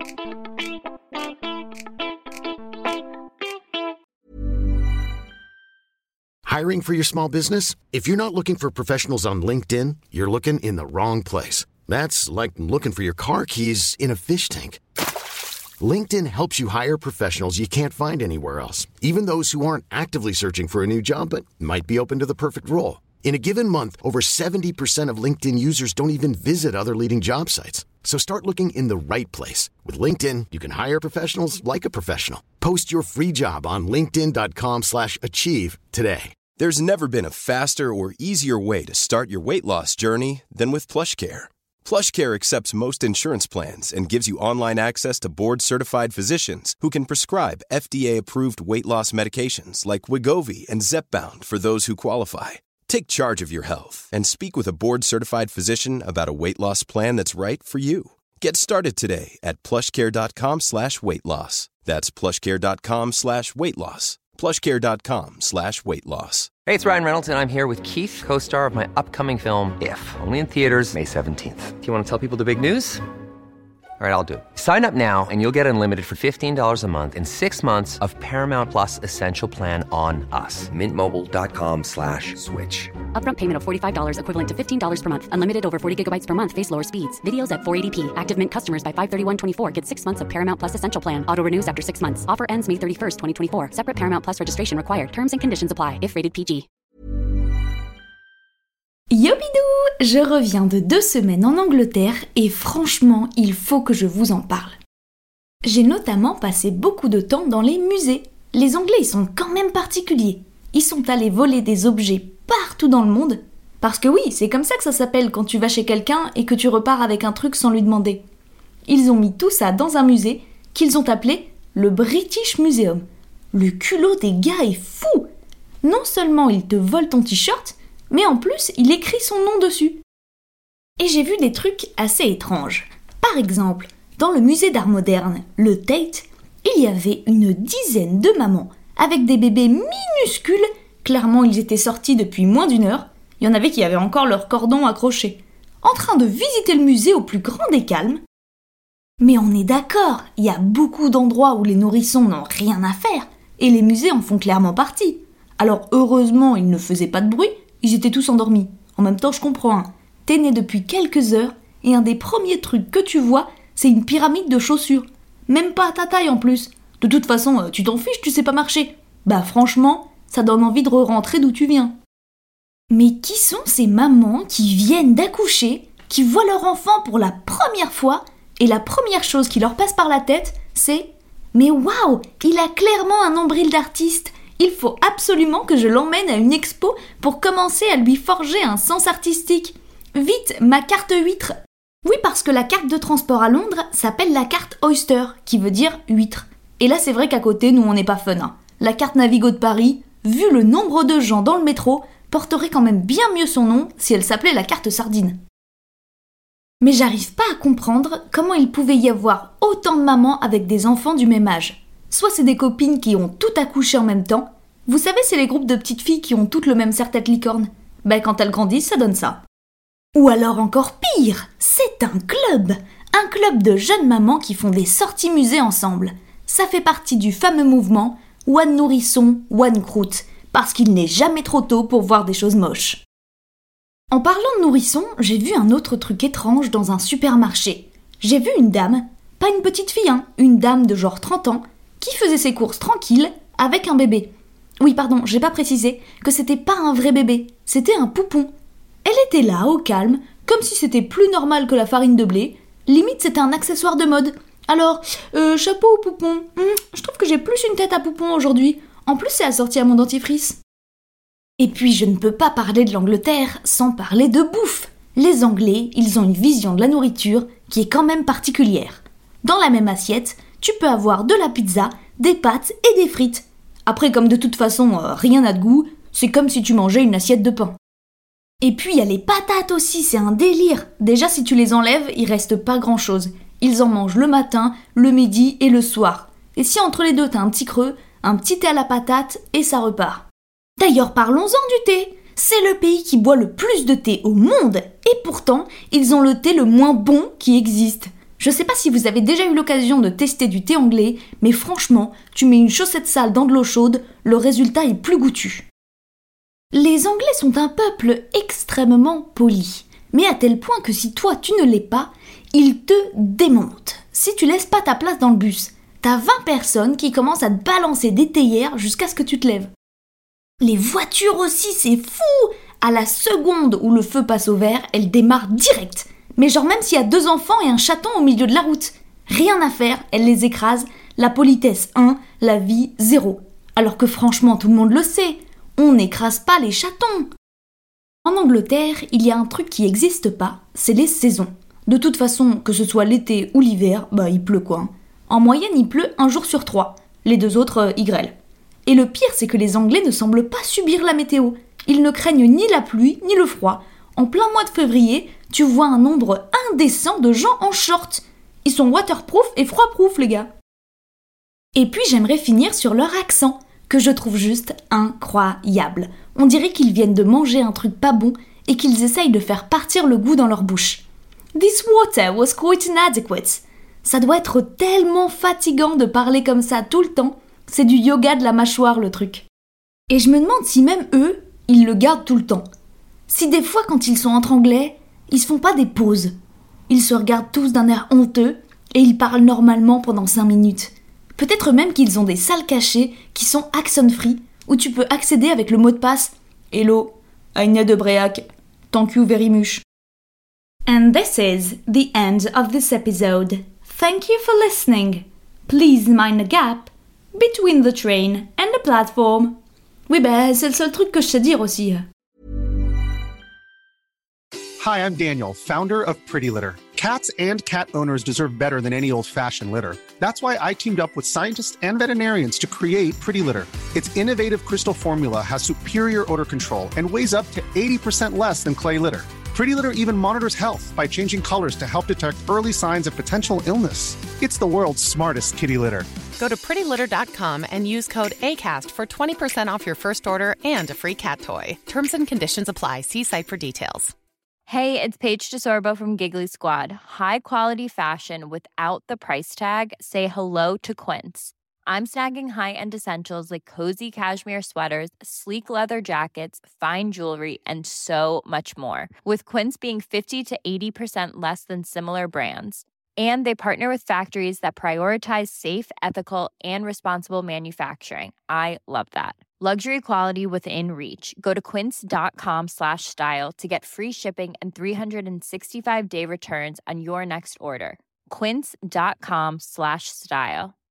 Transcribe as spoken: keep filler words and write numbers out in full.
Hiring for your small business? If you're not looking for professionals on LinkedIn, you're looking in the wrong place. That's like looking for your car keys in a fish tank. LinkedIn helps you hire professionals you can't find anywhere else, even those who aren't actively searching for a new job but might be open to the perfect role. In a given month, over seventy percent of LinkedIn users don't even visit other leading job sites. So start looking in the right place. With LinkedIn, you can hire professionals like a professional. Post your free job on linkedin.com slash achieve today. There's never been a faster or easier way to start your weight loss journey than with PlushCare. PlushCare accepts most insurance plans and gives you online access to board-certified physicians who can prescribe F D A-approved weight loss medications like Wegovy and Zepbound for those who qualify. Take charge of your health and speak with a board-certified physician about a weight loss plan that's right for you. Get started today at plushcare.com slash weight loss. That's plushcare.com slash weight loss. plushcare.com slash weight loss. Hey, it's Ryan Reynolds, and I'm here with Keith, co-star of my upcoming film, If, only in theaters May seventeenth. Do you want to tell people the big news? All right, I'll do it. Sign up now and you'll get unlimited for fifteen dollars a month and six months of Paramount Plus Essential Plan on us. Mint Mobile dot com slash switch. Upfront payment of forty-five dollars equivalent to fifteen dollars per month. Unlimited over forty gigabytes per month. Face lower speeds. Videos at four eighty p. Active Mint customers by five thirty-one twenty-four get six months of Paramount Plus Essential Plan. Auto renews after six months. Offer ends May thirty-first, twenty twenty-four. Separate Paramount Plus registration required. Terms and conditions apply if rated P G. Yo bidou! Je reviens de deux semaines en Angleterre et franchement, il faut que je vous en parle. J'ai notamment passé beaucoup de temps dans les musées. Les Anglais, ils sont quand même particuliers. Ils sont allés voler des objets partout dans le monde. Parce que oui, c'est comme ça que ça s'appelle quand tu vas chez quelqu'un et que tu repars avec un truc sans lui demander. Ils ont mis tout ça dans un musée qu'ils ont appelé le British Museum. Le culot des gars est fou! Non seulement ils te volent ton t-shirt, mais en plus, il écrit son nom dessus. Et j'ai vu des trucs assez étranges. Par exemple, dans le musée d'art moderne, le Tate, il y avait une dizaine de mamans avec des bébés minuscules. Clairement, ils étaient sortis depuis moins d'une heure. Il y en avait qui avaient encore leur cordon accroché, en train de visiter le musée au plus grand des calmes. Mais on est d'accord, il y a beaucoup d'endroits où les nourrissons n'ont rien à faire, et les musées en font clairement partie. Alors heureusement, ils ne faisaient pas de bruit, ils étaient tous endormis. En même temps, je comprends, hein. T'es né depuis quelques heures, et un des premiers trucs que tu vois, c'est une pyramide de chaussures. Même pas à ta taille en plus. De toute façon, tu t'en fiches, tu sais pas marcher. Bah franchement, ça donne envie de re-rentrer d'où tu viens. Mais qui sont ces mamans qui viennent d'accoucher, qui voient leur enfant pour la première fois, et la première chose qui leur passe par la tête, c'est « Mais waouh, il a clairement un nombril d'artiste !» Il faut absolument que je l'emmène à une expo pour commencer à lui forger un sens artistique. Vite, ma carte huître. Oui, parce que la carte de transport à Londres s'appelle la carte Oyster, qui veut dire huître. Et là, c'est vrai qu'à côté, nous, on n'est pas fun. Hein. La carte Navigo de Paris, vu le nombre de gens dans le métro, porterait quand même bien mieux son nom si elle s'appelait la carte sardine. Mais j'arrive pas à comprendre comment il pouvait y avoir autant de mamans avec des enfants du même âge. Soit c'est des copines qui ont tout accouché en même temps. Vous savez, c'est les groupes de petites filles qui ont toutes le même serre-tête licorne. Ben quand elles grandissent, ça donne ça. Ou alors encore pire, c'est un club. Un club de jeunes mamans qui font des sorties musées ensemble. Ça fait partie du fameux mouvement One Nourrisson, One Croûte, parce qu'il n'est jamais trop tôt pour voir des choses moches. En parlant de nourrissons, j'ai vu un autre truc étrange dans un supermarché. J'ai vu une dame, pas une petite fille, hein, une dame de genre trente ans, qui faisait ses courses tranquille avec un bébé. Oui, pardon, j'ai pas précisé que c'était pas un vrai bébé, c'était un poupon. Elle était là, au calme, comme si c'était plus normal que la farine de blé. Limite, c'était un accessoire de mode. Alors, euh, chapeau ou poupon hum, je trouve que j'ai plus une tête à poupon aujourd'hui. En plus, c'est assorti à mon dentifrice. Et puis, je ne peux pas parler de l'Angleterre sans parler de bouffe. Les Anglais, ils ont une vision de la nourriture qui est quand même particulière. Dans la même assiette, tu peux avoir de la pizza, des pâtes et des frites. Après, comme de toute façon, euh, rien n'a de goût, c'est comme si tu mangeais une assiette de pain. Et puis, il y a les patates aussi, c'est un délire. Déjà, si tu les enlèves, il reste pas grand-chose. Ils en mangent le matin, le midi et le soir. Et si entre les deux, t'as un petit creux, un petit thé à la patate et ça repart. D'ailleurs, parlons-en du thé. C'est le pays qui boit le plus de thé au monde. Et pourtant, ils ont le thé le moins bon qui existe. Je sais pas si vous avez déjà eu l'occasion de tester du thé anglais, mais franchement, tu mets une chaussette sale dans de l'eau chaude, le résultat est plus goûtu. Les Anglais sont un peuple extrêmement poli, mais à tel point que si toi tu ne l'es pas, ils te démontent. Si tu laisses pas ta place dans le bus, t'as vingt personnes qui commencent à te balancer des théières jusqu'à ce que tu te lèves. Les voitures aussi, c'est fou! À la seconde où le feu passe au vert, elles démarrent direct. Mais genre même s'il y a deux enfants et un chaton au milieu de la route. Rien à faire, elles les écrasent. La politesse un, la vie zéro. Alors que franchement, tout le monde le sait. On n'écrase pas les chatons. En Angleterre, il y a un truc qui n'existe pas, c'est les saisons. De toute façon, que ce soit l'été ou l'hiver, bah il pleut quoi. En moyenne, il pleut un jour sur trois. Les deux autres, euh, ils grêlent. Et le pire, c'est que les Anglais ne semblent pas subir la météo. Ils ne craignent ni la pluie, ni le froid. En plein mois de février, tu vois un nombre indécent de gens en short. Ils sont waterproof et froidproof, les gars. Et puis j'aimerais finir sur leur accent, que je trouve juste incroyable. On dirait qu'ils viennent de manger un truc pas bon et qu'ils essayent de faire partir le goût dans leur bouche. This water was quite inadequate. Ça doit être tellement fatigant de parler comme ça tout le temps. C'est du yoga de la mâchoire, le truc. Et je me demande si même eux, ils le gardent tout le temps. Si des fois, quand ils sont entre Anglais, ils se font pas des pauses. Ils se regardent tous d'un air honteux et ils parlent normalement pendant cinq minutes. Peut-être même qu'ils ont des salles cachées qui sont accent-free, où tu peux accéder avec le mot de passe « Hello, Aïna de Bréac, thank you very much ». And this is the end of this episode. Thank you for listening. Please mind the gap between the train and the platform. Oui, ben, c'est le seul truc que je sais dire aussi. Hi, I'm Daniel, founder of Pretty Litter. Cats and cat owners deserve better than any old-fashioned litter. That's why I teamed up with scientists and veterinarians to create Pretty Litter. Its innovative crystal formula has superior odor control and weighs up to eighty percent less than clay litter. Pretty Litter even monitors health by changing colors to help detect early signs of potential illness. It's the world's smartest kitty litter. Go to pretty litter dot com and use code ACAST for twenty percent off your first order and a free cat toy. Terms and conditions apply. See site for details. Hey, it's Paige DeSorbo from Giggly Squad. High quality fashion without the price tag. Say hello to Quince. I'm snagging high-end essentials like cozy cashmere sweaters, sleek leather jackets, fine jewelry, and so much more. With Quince being fifty to eighty percent less than similar brands. And they partner with factories that prioritize safe, ethical, and responsible manufacturing. I love that. Luxury quality within reach. Go to quince.com slash style to get free shipping and three sixty-five day returns on your next order. Quince.com slash style.